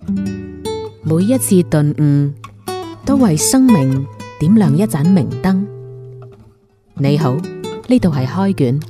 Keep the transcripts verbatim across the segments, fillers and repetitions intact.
每一次頓悟，都為生命點亮一盞明燈。你好，呢度係開卷。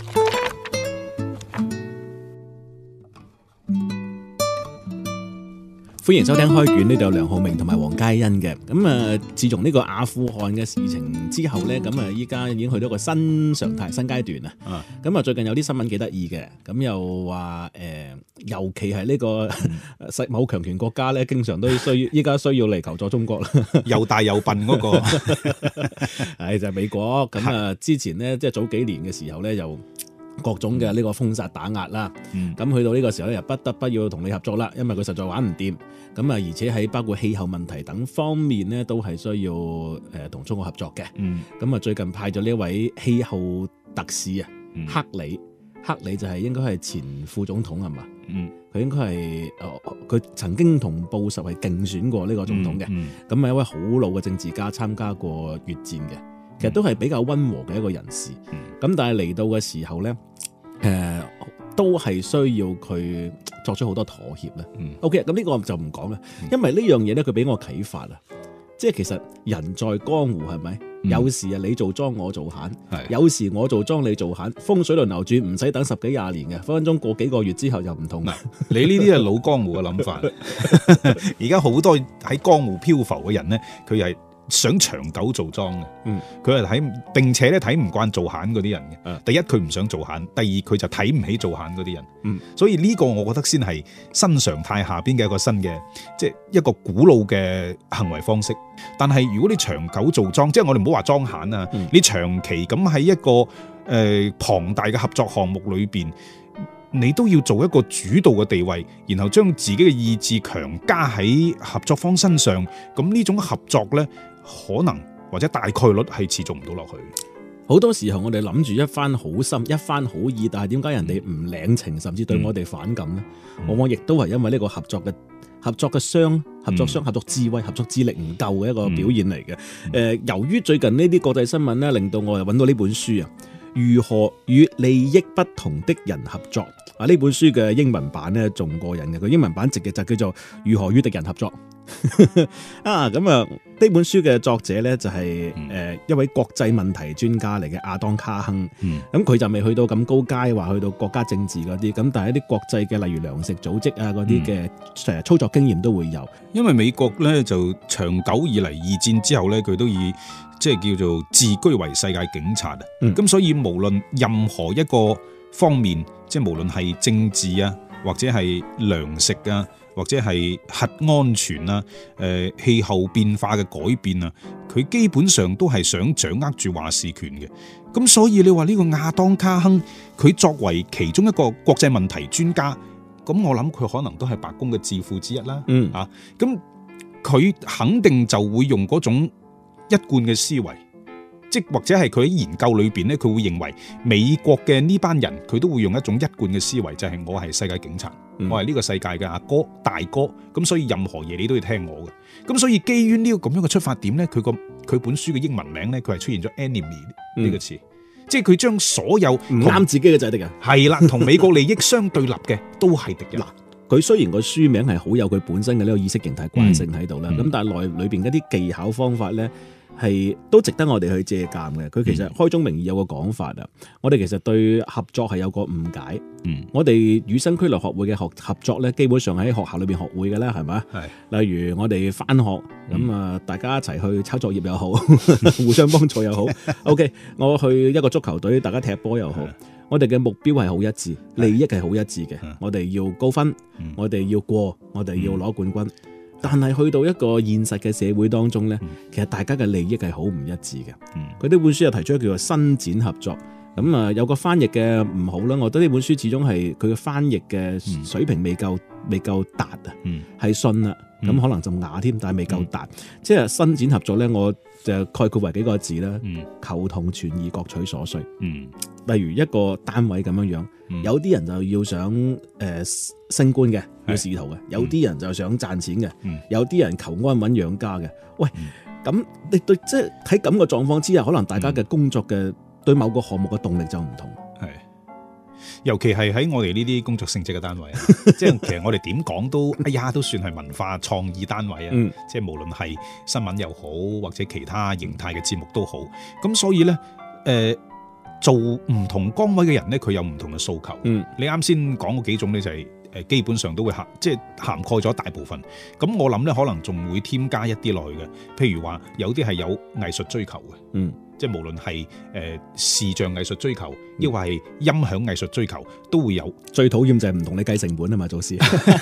歡迎收聽開卷，呢度有梁浩明同埋黃嘉欣嘅。咁啊，自從呢個阿富汗嘅事情之後呢，咁啊，依家已經去到一個新常態、新階段啦。咁啊，最近有啲新聞幾得意嘅，咁又話誒、呃，尤其係呢個世某強權國家呢，經常都需要依家需要嚟求助中國啦。 又大又笨嗰、那個， 係就係、是、美國。咁啊，之前呢，即係早幾年嘅時候呢，又各種嘅呢個封殺打壓啦，咁、嗯、去到呢個時候咧，又不得不要同你合作啦，因為佢實在玩唔掂。咁啊，而且喺包括氣候問題等方面呢，都係需要誒同中國合作嘅。咁啊、嗯，最近派咗呢位氣候特使啊，嗯、克里，克里就係應該係前副總統係嘛？嗯，佢應該係佢曾經同布什係競選過呢個總統嘅。咁啊、嗯，嗯、一位好老嘅政治家，參加過越戰嘅。其實都係比較溫和嘅一個人士，咁、嗯、但係嚟到嘅時候咧，誒、呃、都係需要佢作出好多妥協咧。嗯、OK， 咁呢個就唔講啦，嗯、因為呢樣嘢咧，佢俾我啟發啦。即係其實人在江湖係咪？嗯、有時啊，你做莊我做閒，是有時我做莊你做閒，風水輪流轉，唔使等十幾廿年嘅，分分鐘過幾個月之後就唔同啦。 你呢啲係老江湖嘅諗法，而家好多喺江湖漂浮嘅人咧，佢係想長久做莊嘅，佢係睇，並且咧睇唔慣做閒嗰啲人嘅。嗯、第一佢唔想做閒，第二佢就睇唔起做閒嗰啲人。嗯、所以呢個我覺得先係新常態下邊嘅一個新嘅，即係一個古老嘅行為方式。但係如果你長久做莊，即係我哋唔好話莊閒啊，嗯、你長期咁喺一個誒、呃、龐大嘅合作項目裏邊，你都要做一個主導嘅地位，然後將自己嘅意志強加喺合作方身上，咁呢種合作呢，可能或者大概率係持續唔到落去。 好多時候我哋諗住一番好心一番好意，但係點解人哋唔領情，甚至對我哋反感呢？嗯、往往亦都係因為呢個合作嘅合作嘅商、合作商、合作智慧、合作智力唔夠嘅一個表現嚟嘅。誒、嗯呃，由於最近呢啲國際新聞呢，令到我又揾到呢本書啊，如何與利益不同的人合作啊！呢本書嘅英文版呢，仲過癮嘅，佢英文版直嘅就叫做如何與敵人合作啊！咁啊，呢本書嘅作者呢，就係、是、誒、嗯呃、一位國際問題專家嚟嘅亞當卡亨，咁佢、嗯、就未去到咁高階，話去到國家政治嗰啲，咁但係一啲國際嘅例如糧食組織啊嗰啲嘅誒操作經驗都會有。 因為美國呢，就長久以嚟二戰之後呢，佢都以即係叫做自居為世界警察啊，咁、嗯、所以無論任何一個方面，即係無論係政治啊，或者係糧食啊，或者係核安全啊，誒、呃、氣候變化嘅改變啊，佢基本上都係想掌握住話事權嘅。咁所以你話呢個亞當卡亨，佢作為其中一個國際問題專家，咁我諗佢可能都係白宮嘅智庫之一啦。嗯啊，咁佢肯定就會用嗰種一貫嘅思維，即或者係佢喺研究裏邊咧，佢會認為美國嘅呢班人，佢都會用一種一貫嘅思維，就係、是、我係世界警察，嗯、我係呢個世界嘅阿哥大哥，咁所以任何嘢你都要聽我嘅。咁所以基於呢個咁樣嘅出發點咧，佢個佢本書嘅英文名咧，佢係出現咗 enemy 呢個詞，嗯、即係佢將所有唔啱自己嘅就係敵人，係啦，同美國利益相對立嘅都係敵人。 佢雖然個書名係好有佢本身嘅呢個意識形態慣性喺度啦，咁、嗯嗯、但係內裏邊一啲技巧方法咧，係都值得我哋去借鑑嘅。佢其實開宗明義有個講法啊，嗯、我哋其實對合作係有個誤解。嗯，我哋與生俱來學會嘅學合作咧，基本上喺學校裏邊學會嘅啦，係咪？係。例如我哋返學咁啊，嗯、大家一齊去抄作業又好，互相幫助又好。OK， 我去一個足球隊，大家踢波又好。我哋嘅目標係好一致，利益係好一致嘅。我哋要高分，我哋要過，我哋要攞冠軍。但係去到一個現實嘅社會當中呢，其實大家嘅利益係好唔一致嘅。佢呢本書又提出一個叫做伸展合作。咁啊，有個翻譯嘅唔好啦，我覺得呢本書始終係佢嘅翻譯嘅水平未夠未夠達啊，係信啦。咁、嗯、可能就啞添，但係未夠達，嗯、即係伸展合作咧，我就概括為幾個字啦，嗯、求同存異，各取所需。嗯、例如一個單位咁樣樣，嗯、有啲人就要想誒、呃、升官嘅，要仕途嘅；嗯、有啲人就想賺錢嘅，嗯、有啲人求安穩養家嘅。喂，咁、嗯、你對即係喺咁嘅狀況之下，可能大家嘅工作嘅、嗯、對某個項目嘅動力就唔同。係， 尤其係喺我哋呢啲工作性質嘅單位啊，即係其實我哋點講都，哎呀，都算係文化創意單位啊， 嗯、 即係無論係新聞又好，或者其他形態嘅節目都好。咁所以咧，誒、呃，做唔同崗位嘅人咧，佢有唔同嘅訴求。 嗯， 你啱先講嗰幾種咧，就係誒，基本上都會涵，即係涵蓋咗大部分。咁我諗咧，可能仲會添加一啲落去嘅，譬如話有啲係有藝術追求嘅。 嗯。 即係無論係誒視像藝術追求，抑或係音響藝術追求，都會有。 最討厭就係唔同你計成本啊嘛，做事。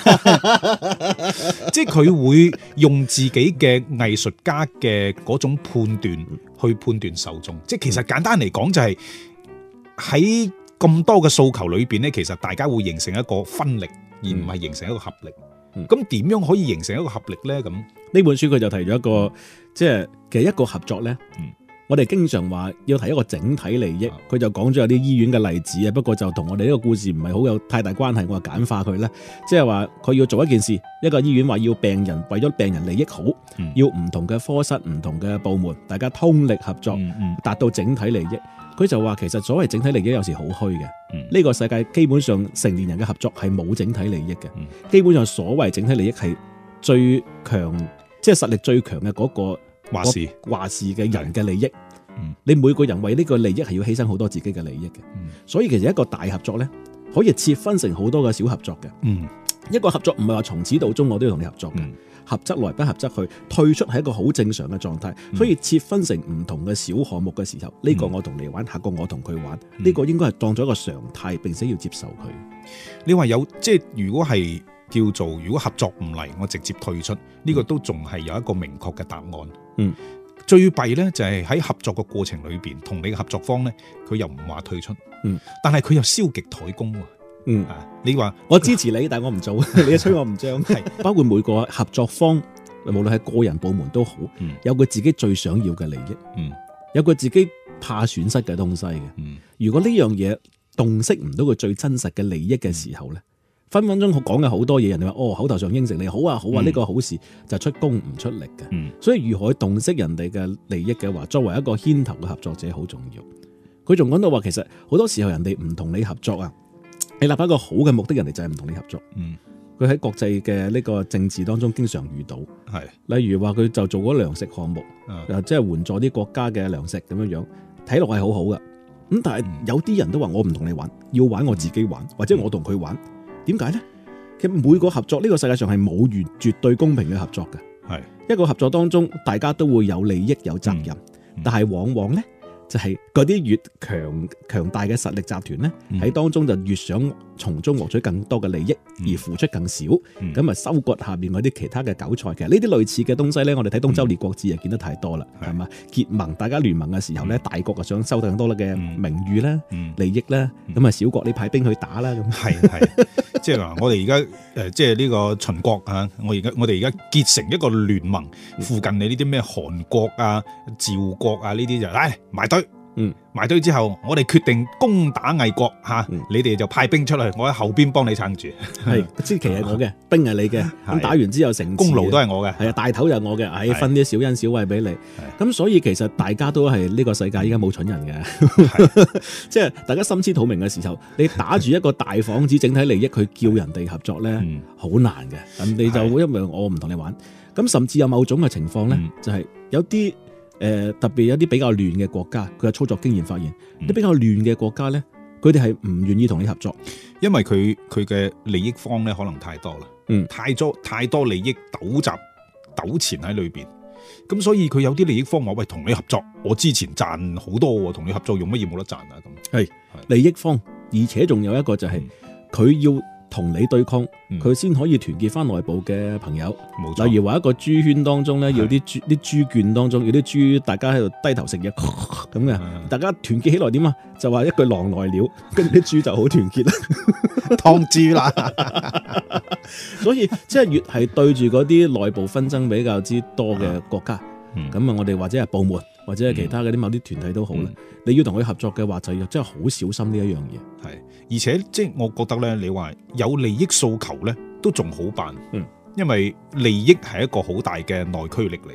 即係佢會用自己嘅藝術家嘅嗰種判斷去判斷受眾。即係其實簡單嚟講，就係喺咁多嘅訴求裏邊咧，其實大家會形成一個分力，而唔係形成一個合力。咁點、嗯、樣可以形成一個合力咧？咁呢本書佢就提咗一個，即係其實一個合作咧。嗯我哋經常話要提一個整體利益，佢就講咗有啲醫院嘅例子啊。不過就同我哋呢個故事唔係好有太大關係，我簡化佢啦。即係話佢要做一件事，一個醫院話要病人為咗病人利益好，嗯、要唔同嘅科室、唔同嘅部門，大家通力合作，嗯嗯、達到整體利益。佢就話其實所謂整體利益有時好虛嘅。呢、嗯、個世界基本上成年人嘅合作係冇整體利益嘅。嗯、基本上所謂整體利益係最強，即係實力最強嘅嗰個。話事話事嘅人嘅利益，嗯、你每個人為呢個利益係要犧牲好多自己嘅利益嘅，嗯、所以其實一個大合作咧，可以切分成好多個小合作嘅。嗯、一個合作唔係話從始到終我都要同你合作嘅，嗯、合則來不合則去，退出係一個好正常嘅狀態。嗯、所以切分成唔同嘅小項目嘅時候，呢、嗯、個我同你玩，下個我同佢玩，呢、嗯、個應該係當咗一個常態，並且要接受佢。 你話有即係如果係叫做如果合作唔嚟，我直接退出，呢、呢個都仲係有一個明確嘅答案。嗯，最弊咧就係喺合作嘅過程裏邊，同你嘅合作方咧，佢又唔話退出，嗯，但係佢又消極怠工，嗯啊，你話我支持你，但係我唔做，你一吹我唔漲，係包括每個合作方，無論係個人部門都好，嗯、有佢自己最想要嘅利益，嗯，有佢自己怕損失嘅東西嘅，嗯，如果呢樣嘢洞悉唔到佢最真實嘅利益嘅時候咧。分分鐘講嘅好多嘢，人哋話哦，口頭上應承你好啊好啊，呢個、嗯、好事就出工唔出力嘅，嗯、所以如何去洞悉人哋嘅利益嘅話，作為一個牽頭嘅合作者好重要。佢仲講到話，其實好多時候人哋唔同你合作啊，你立下一個好嘅目的，人哋就係唔同你合作。佢喺、嗯、國際嘅呢個政治當中經常遇到，係是例如話佢就做嗰糧食項目，嗯、即係援助啲國家嘅糧食咁樣樣，睇落係好好噶。咁但係有啲人都話我唔同你玩，要玩我自己玩，或者我同佢玩。點解呢？其實每個合作呢、呢個世界上係冇完絕對公平嘅合作嘅。係一個合作當中，大家都會有利益有責任，嗯、但係往往呢，就係嗰啲越強強大嘅實力集團呢，喺、嗯、當中就越想從中獲取更多嘅利益，嗯、而付出更少，咁啊、嗯、收割下邊嗰啲其他嘅韭菜。其實呢啲類似嘅東西呢，我哋睇東周列國志啊見得太多啦，係嘛、嗯？結盟大家聯盟嘅時候呢，嗯、大國啊想收到更多嘅名譽啦、嗯、利益啦，咁啊、嗯、小國你派兵去打啦咁。係係，即係話我哋而家誒，即係呢個秦國啊，我而家我哋而家結成一個聯盟，附近你呢啲咩韓國啊、趙國啊呢啲就唉埋堆。嗯，埋堆之後，我哋決定攻打魏國吓，嗯、你哋就派兵出去，我喺後邊幫你撐住。係，支旗係我嘅，兵係你嘅。咁的打完之後，成功勞都係我嘅。係啊，大頭就係我嘅，係分啲小恩小惠俾你。咁的所以其實大家都係呢個世界依家冇蠢人嘅，即係的大家心知肚明嘅時候，你打住一個大幌子整體利益去叫人哋合作咧，好、嗯、難嘅。咁你就因為我唔同你玩，咁甚至有某種嘅情況咧，嗯、就係有啲。誒、呃，特別有啲比較亂嘅國家，佢嘅操作經驗發現，啲、嗯、比較亂嘅國家咧，佢哋係唔願意同你合作，因為佢佢嘅利益方咧可能太多啦，嗯，太多太多利益糾集糾纏喺裏邊，咁所以佢有啲利益方話喂，同你合作，我之前賺好多，同你合作用乜嘢冇得賺啊咁，係利益方，而且仲有一個就係、是、佢、嗯、要。同你對抗，佢先、嗯、可以團結翻內部嘅朋友。冇錯，例如話一個豬圈當中咧，要啲豬啲豬圈當中，要啲豬大家喺度低頭食嘢咁嘅，的大家團結起來點啊？就話一句狼來了，跟住啲豬就好團結啦，劏豬啦。所以即係越係對住嗰啲內部紛爭比較之多嘅國家，咁啊、嗯，我哋或者係部門。或者係其他嗰啲某啲團體都好啦，嗯、你要同佢合作嘅話，就要真係好小心呢一樣嘢。係，而且即係我覺得咧，你話有利益訴求咧，都仲好辦。嗯，因為利益係一個好大嘅內驅力嚟嘅。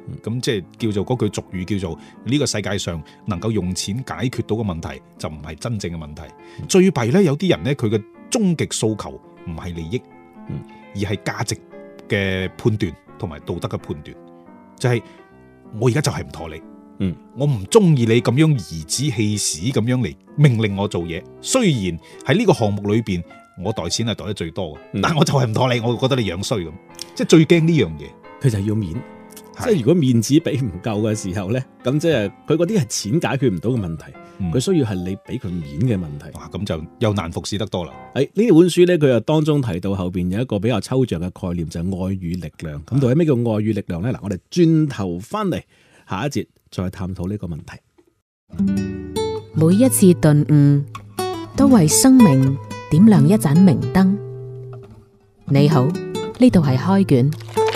咁即係叫做嗰句俗語叫做呢個世界上能夠用錢解決到嘅問題就唔係真正嘅問題。嗯、最弊咧，有啲人咧佢嘅終極訴求唔係利益，嗯、而係價值嘅判斷同埋道德嘅判斷，就係、是、我而家就係唔妥你。嗯，我唔中意你咁樣頤指氣使咁樣嚟命令我做嘢。雖然喺呢個項目裏邊，我袋錢係袋得最多嘅，嗯、但我就係唔妥你，我覺得你樣衰咁，即係最驚呢樣嘢。 佢就係要面，是即係如果面子俾唔夠嘅時候咧，咁即係佢嗰啲係錢解決唔到嘅問題，佢、嗯、需要係你俾佢面嘅問題。 哇，咁就又難服侍得多啦。 喺呢本書咧，佢又當中提到後邊有一個比較抽象嘅概念，就係、是、愛與力量。咁到底咩叫愛與力量咧？嗱，我哋轉頭翻嚟下一節再探討呢個問題。 每一次頓悟都為生命點亮一盞明燈。你好，呢度係開卷。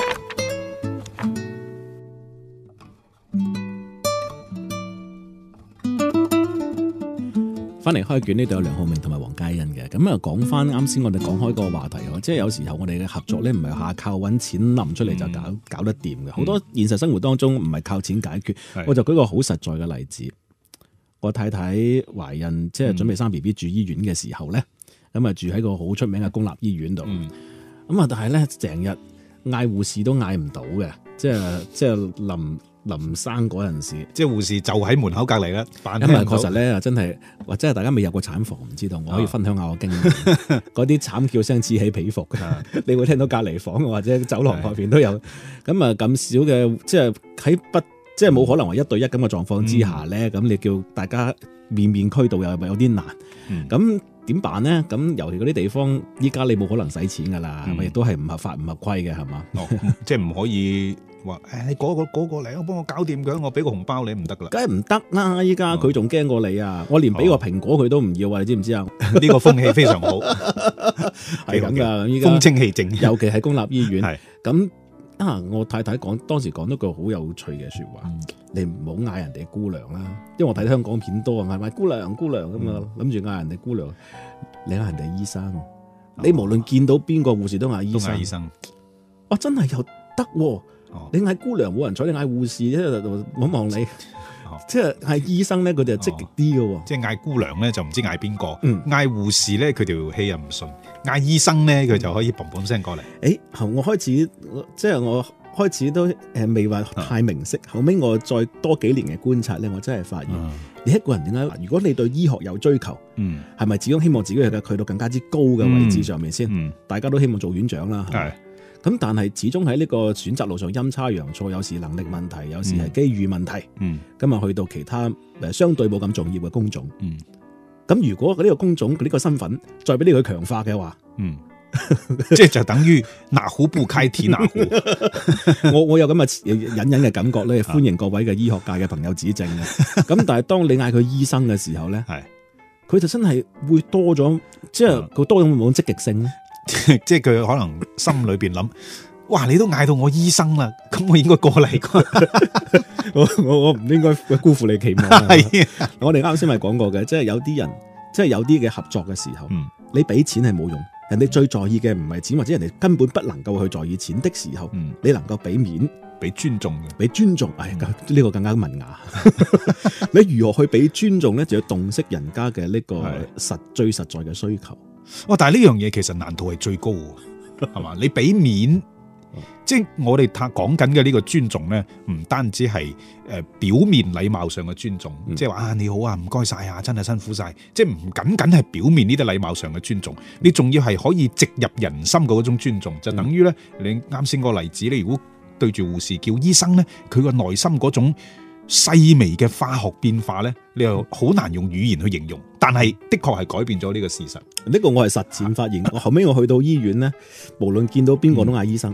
翻嚟開卷，呢度有梁浩明同埋黃嘉欣嘅。咁啊，講翻啱先我哋講開個話題，即係有時候我哋嘅合作咧，唔係下靠揾錢冧出嚟就搞、嗯、搞得掂嘅。好多現實生活當中唔係靠錢解決。嗯、我就舉個好實在嘅例子，我太太懷孕，即係準備生 B B 住醫院嘅時候咧，咁啊、嗯、住喺個好出名嘅公立醫院度。咁啊、嗯，但係咧成日嗌護士都嗌唔到嘅，即係即係臨。臨生嗰陣時， 即係護士就喺門口隔離啦。 因為確實咧，真係或者係大家未入過產房，唔知道。我可以分享下我經驗。嗰啲慘叫聲此起彼伏嘅，你會聽到隔離房或者走廊外邊都有。咁啊咁少嘅，即係喺不即係冇可能話一對一咁嘅狀況之下咧，咁、嗯、你叫大家面面俱到又有啲難。咁點、嗯、辦咧？咁尤其嗰啲地方，依家你冇可能使錢噶啦，亦都係唔合法唔合規嘅，係嘛？ 哦、即係唔可以。話誒，你嗰個嗰個嚟，我幫我搞掂佢，我俾個紅包你唔得噶啦， 梗係唔得啦！依家佢仲驚過你啊！我連俾個蘋果佢都唔要啊！你知唔知啊？ 呢個風氣非常好， 係咁噶。依家風清氣正， 尤其係公立醫院。係咁啊！我太太講當時講咗句好有趣嘅說話，嗯、你唔好嗌人哋姑娘啦，因為我睇香港片多啊，嗌埋姑娘姑娘咁啊，諗住嗌人哋姑娘，你嗌人哋醫生，哦、你無論見到邊個護士都嗌醫生，醫生，哇！真係又得喎。哦、你嗌姑娘冇人睬，你嗌護士咧就望望你，哦、即係嗌醫生咧佢哋就積極啲嘅，即係嗌姑娘咧就唔知嗌邊個，嗌護、嗯、士咧佢條氣又唔順，嗌醫生咧佢就可以嘭嘭聲過嚟。誒、 嗯，我開始即係我開始都誒未話太明晰，嗯、後尾我再多幾年嘅觀察咧，我真係發現，嗯、你一個人點解？如果你對醫學有追求，嗯，係咪始終希望自己去去到更加之高嘅位置上面先？嗯嗯、大家都希望做院長啦，係。咁但係始終喺呢個選擇路上陰差陽錯，有時能力問題，有時係機遇問題。嗯，今日去到其他誒相對冇咁重要嘅工種。嗯，咁如果呢個工種呢個身份再俾呢個強化嘅話，嗯， 即係就等於哪壺不開提哪壺。 我我有咁嘅隱隱嘅感覺咧，歡迎各位嘅醫學界嘅朋友指正嘅。咁但係當你嗌佢醫生嘅時候咧，係佢就真係會多咗，即係佢多咗冇積極性咧。 即係佢可能心裏邊諗，哇！你都嗌到我醫生啦，咁我應該過嚟啩？ 我我我唔應該辜負你期望。係我哋啱先咪講過嘅，即係有啲人，即係有啲嘅合作嘅時候，嗯、你俾錢係冇用，人哋最在意嘅唔係錢，或者人哋根本不能夠去在意錢的時候，嗯、你能夠俾面、 俾尊重嘅， 俾尊重，哎，呢、嗯、個更加文雅。你如何去俾尊重咧？就要洞悉人家嘅呢個實的最實在嘅需求。 哇！但係呢樣嘢其實難度係最高嘅，係嘛？你俾面，即係我哋講緊嘅呢個尊重咧，唔單止係誒表面禮貌上嘅尊重，嗯、即係話啊你好啊，唔該晒啊，真係辛苦晒，即係唔僅僅係表面呢啲禮貌上嘅尊重，你仲要係可以直入人心嘅嗰種尊重，就等於咧你啱先個例子，你如果對住護士叫醫生咧，佢個內心嗰種細微嘅化學變化咧，你又好難用語言去形容，但係的確係改變咗呢個事實。 呢個我係實踐發現。我後尾我去到醫院咧，無論見到邊個都嗌醫生，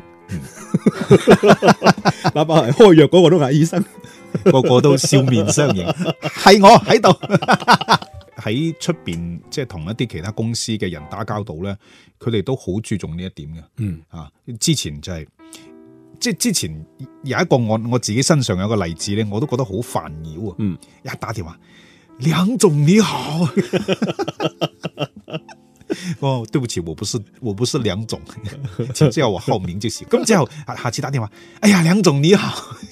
哪怕係開藥嗰個都嗌醫生， 個個都笑面相迎。係我喺度喺出邊，即係同一啲其他公司嘅人打交道咧，佢哋都好注重呢一點嘅。嗯啊，之前就係、是。即係之前有一個我我自己身上有個例子咧，我都覺得好煩擾啊！嗯，一打電話，梁總你好，哦，對不起，我不是我不是梁總，請叫我浩明就行。咁之後下下次打電話，哎呀，梁總你好，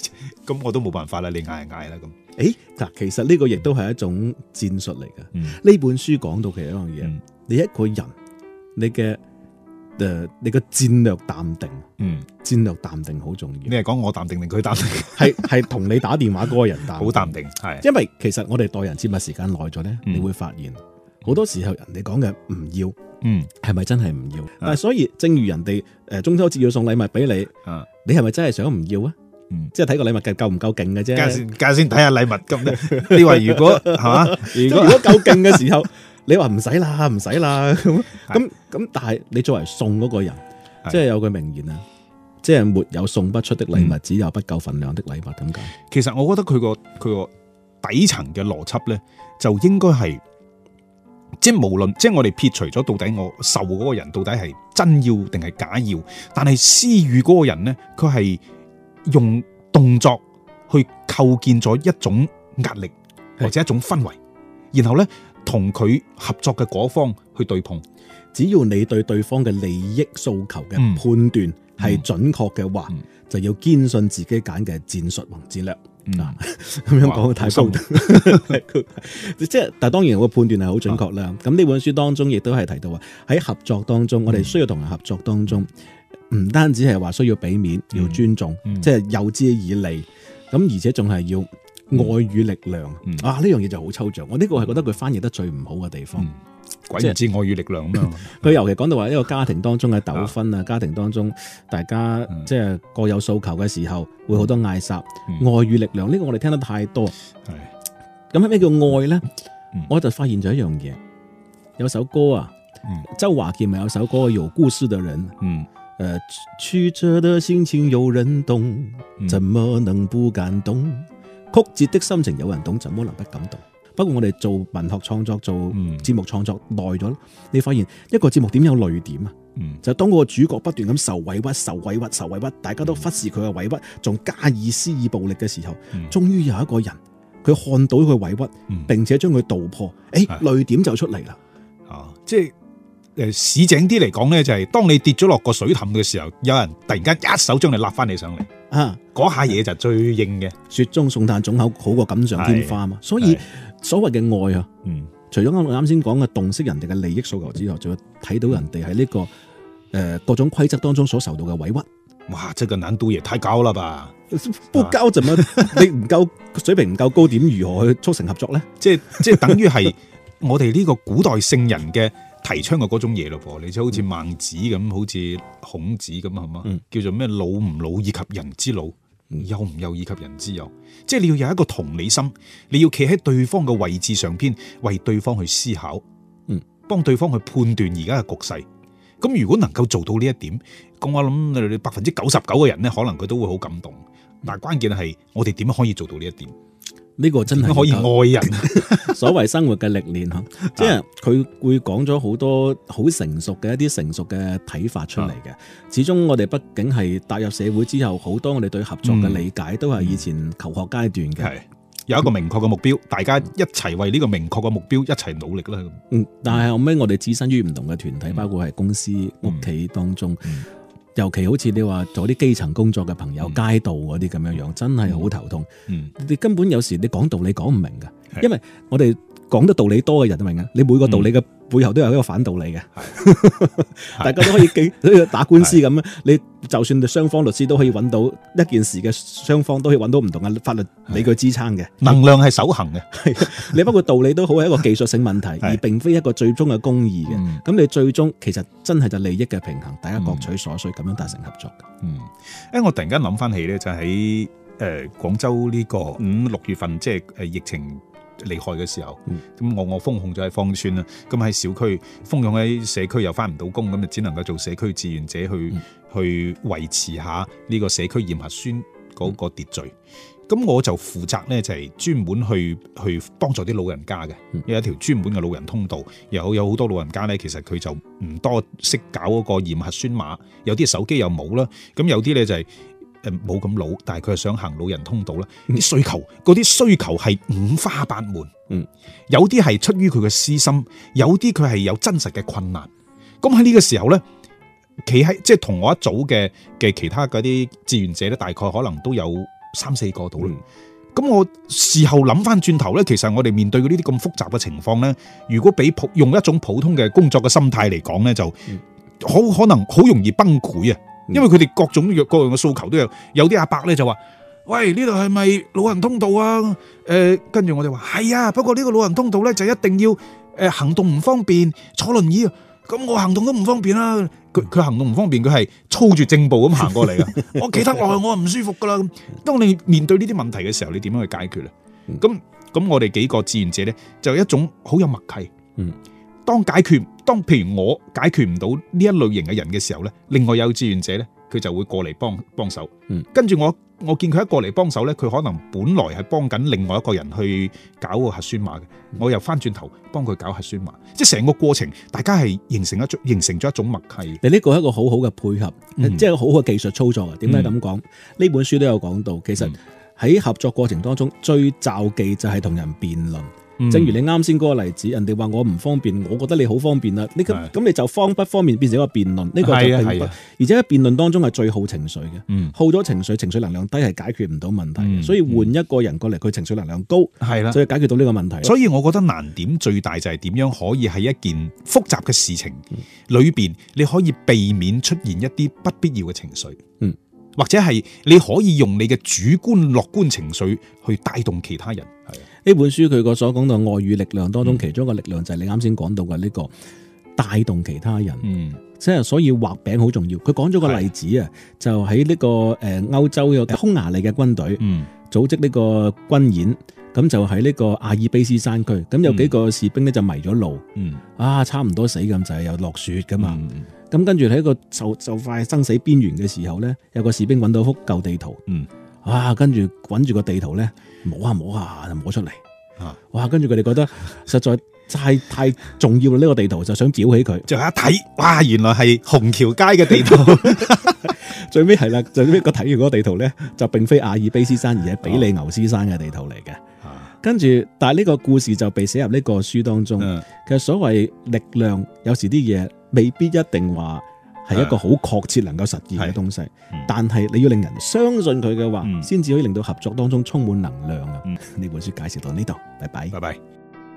咁我都冇辦法啦，你嗌就嗌啦咁。 誒嗱，其實呢個亦都係一種戰術嚟嘅。呢、 嗯、 本書講到其實一樣嘢， 嗯、 你一個人，你嘅誒、呃，你嘅戰略淡定， 嗯， 戰略淡定好重要。 你係講我淡定定佢淡定？ 係係同你打電話嗰個人淡定， 好淡定，係。 因為其實我哋待人接物時間耐咗咧， 嗯、 你會發現好多時候人哋講嘅唔要， 嗯，係咪真係唔要？但係所以正如人哋誒中秋節要送禮物俾你， 啊， 你係咪真係想唔要啊？嗯、即係睇個禮物夠唔夠勁嘅啫。 家先家先睇下禮物咁咧。你話如果係嘛？ 如果如果夠勁嘅時候，你話唔使啦，唔使啦咁咁咁。但係你作為送嗰個人，即係有句名言啊，即係沒有送不出的禮物，嗯、只有不夠份量的禮物。點解？ 其實我覺得佢個佢個底層嘅邏輯咧，就應該係即係無論即係我哋撇除咗到底我受嗰個人到底係真要定係假要，但係施予嗰個人咧，佢係用動作去構建咗一種壓力或者一種氛圍，然後咧同佢合作嘅嗰方去對碰。 只要你對對方嘅利益訴求嘅判斷係準確嘅話，嗯嗯、就要堅信自己揀嘅戰術同戰略。嗱、嗯，咁樣講太高，即係，但係當然我判斷係好準確啦。咁呢、啊、本書當中亦都係提到話，喺合作當中，嗯、我哋需要同人合作當中。唔單止係話需要俾面，要尊重，嗯嗯、即係誘之以利，咁而且仲係要愛與力量。嗯、啊，呢樣嘢就好抽象。我呢個係覺得佢翻譯得最唔好嘅地方。 鬼唔知愛與力量咁樣。 佢尤其講到話一個家庭當中嘅糾紛啊，嗯、家庭當中大家即係各有訴求嘅時候，會好多嗌殺。嗯、愛與力量呢、呢個我哋聽得太多。係咁咩叫愛咧？嗯、我就發現咗一樣嘢，有首歌啊，嗯、周華健咪有首歌《有故事的人》。嗯。誒、呃，曲折的心情有人懂，怎麼能不感動？嗯、曲折的心情有人懂，怎麼能不感動？不過我哋做文學創作、做節目創作耐咗，嗯、你發現一個節目點有淚點啊？嗯、就當嗰個主角不斷咁受委屈、受委屈、受委屈，大家都忽視佢嘅委屈，仲加以施以暴力嘅時候，嗯、終於有一個人佢看到佢委屈，嗯、並且將佢道破，誒，淚點就出嚟啦。 啊，即係。誒，市井啲嚟講咧，就係當你跌咗落個水凼嘅時候，有人突然間一手將你揦翻你上嚟，啊，嗰下嘢就最硬嘅。 雪中送炭總好好過錦上添花嘛。所以所謂嘅愛啊，嗯，除咗我啱先講嘅洞悉人哋嘅利益訴求之外，仲要睇到人哋喺呢個誒、呃、各種規則當中所受到嘅委屈。 哇，這個難度也太高了吧？ 不高怎麼你唔夠水平唔夠高，點如何去促成合作咧？ 即係即係等於係我哋呢個古代聖人嘅。提倡嘅嗰種嘢咯噃，你就好似孟子咁，嗯、好似孔子咁係嘛，嗯、叫做咩老唔老以及人之老，嗯、幼唔幼以及人之幼，即係你要有一個同理心，你要企喺對方嘅位置上邊，為對方去思考，嗯，幫對方去判斷而家嘅局勢。咁如果能夠做到呢一點，咁我諗你百分之九十九嘅人咧，可能佢都會好感動。但係關鍵係我哋點樣可以做到呢一點？ 呢個真係可以愛人， 所謂生活嘅歷練吓，即係佢會講咗好多好成熟嘅一啲成熟嘅睇法出嚟嘅。啊、始終我哋畢竟係踏入社會之後，好多我哋對合作嘅理解都係以前求學階段嘅，係、嗯、 有一個明確嘅目標，大家一齊為呢個明確嘅目標一齊努力啦。 嗯，但係後尾我哋置身於唔同嘅團體，嗯、包括係公司、屋企當中。嗯嗯尤其好似你話做啲基層工作嘅朋友，嗯、街道嗰啲咁樣樣，真係好頭痛。嗯、你根本有時你講道理講唔明㗎，是因為我哋講得道理多嘅人都明啊。你每個道理嘅背後都有一個反道理嘅，是大家都可以記，好似打官司咁樣。是你就算雙方律師都可以揾到一件事嘅雙方都可以揾到唔同嘅法律理據支撐嘅。 能量係守恆嘅， 你包括道理都好係一個技術性問題，是而並非一個最終嘅公義嘅。咁、嗯、你最終其實真係就利益嘅平衡，大家各取所需，咁、嗯、樣達成合作嘅。 嗯，誒，我突然間諗翻起咧，就喺誒廣州呢個五六月份，即係誒疫情厲害嘅時候，咁、嗯、我我封控咗喺芳村啦，咁喺小區封控喺社區又翻唔到工，咁就只能夠做社區志願者去、嗯、去維持下呢個社區驗核酸嗰個秩序。咁、嗯、我就負責咧，就係專門去去幫助啲老人家嘅，嗯、有一條專門嘅老人通道，有有好多老人家咧，其實佢就唔多識搞嗰個驗核酸碼，有啲手機又冇啦，咁有啲咧就係、是。誒，冇咁老，但係佢係想行老人通道啦。啲、嗯、需求，嗰啲需求係五花八門。嗯，有啲係出於佢嘅私心，有啲佢係有真實嘅困難。咁喺呢個時候咧，企喺即係同我一組嘅嘅其他嗰啲志願者咧，大概可能都有三四個到啦。 嗯咁我事後諗翻轉頭咧，其實我哋面對嘅呢啲咁複雜嘅情況咧，如果俾普用一種普通嘅工作嘅心態嚟講咧，就好可能好容易崩潰啊！因為佢哋各種各樣嘅訴求都有，有啲阿伯咧就話：喂，呢度係咪老人通道啊？誒、呃，跟住我哋話係啊，不過呢個老人通道咧就一定要誒行動唔方便，坐輪椅啊。咁我行動都唔方便啦，佢佢行動唔方便，佢係操住正步咁行過嚟噶。我企得落去，我唔舒服噶啦。咁當你面對呢啲問題嘅時候，你點樣去解決咧？咁咁我哋幾個志願者咧，就一種好有默契。嗯，當解決，當譬如我解決唔到呢一類型嘅人嘅時候咧，另外有志願者咧，佢就會過嚟幫幫手。嗯，跟住我。我見佢一過嚟幫手咧，佢可能本來係幫緊另外一個人去搞個核酸碼嘅，我又翻轉頭幫佢搞核酸碼，即係成個過程，大家係形成一種形成咗一種默契。 你呢個係一個好好嘅配合， 嗯、 即係好好嘅技術操作啊！點解咁講？呢、嗯、本書都有講到，其實喺合作過程當中，最罩忌就係同人辯論。嗯、正如你啱先嗰個例子，人哋話我唔方便，我覺得你好方便啦。你咁咁你就方不方便變成一個辯論，呢、呢個就並不，而且喺辯論當中係最耗情緒嘅。嗯、耗咗情緒，情緒能量低係解決唔到問題。嗯、所以換一個人過嚟，佢情緒能量高，係啦，所以解決到呢個問題。 所以我覺得難點最大就係點樣可以喺一件複雜嘅事情裏邊，你可以避免出現一啲不必要嘅情緒。嗯，或者係你可以用你嘅主觀樂觀情緒去帶動其他人。係。 呢本書佢個所講到愛與力量當中，其中一個力量就係你啱先講到嘅呢個帶動其他人，嗯，即係所以畫餅好重要。佢講咗個例子啊，就喺呢個誒歐洲嘅匈牙利嘅軍隊，嗯，組織呢個軍演，咁就喺呢個阿爾卑斯山區，咁有幾個士兵咧就迷咗路，嗯，啊差唔多死咁就係又落雪噶嘛，咁、嗯、跟住喺個就就快生死邊緣嘅時候咧，有個士兵揾到幅舊地圖，嗯。哇！跟住揾住個地圖咧，摸下摸下就摸出嚟。啊！哇！跟住佢哋覺得實在太太重要啦，呢個地圖就想裱起佢。 就一睇，哇！原來係虹橋街嘅地圖。 最尾係啦，最尾個睇完嗰個地圖咧，就並非阿爾卑斯山，而係比利牛斯山嘅地圖嚟嘅。啊、跟住，但係呢個故事就被寫入呢個書當中。嗯、其實所謂力量，有時啲嘢未必一定話係一個好確切能夠實現嘅東西，嗯、但係你要令人相信佢嘅話，先至、嗯、可以令到合作當中充滿能量啊！呢、嗯、本書介紹到呢度，拜拜， 拜拜。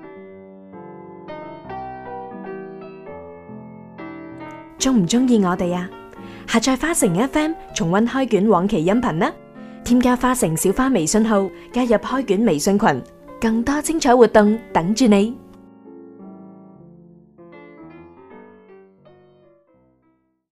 中唔中意我哋啊？下載花城 F M 重溫開卷往期音頻啦！添加花城小花微信號，加入開卷微信群，更多精彩活動等住你。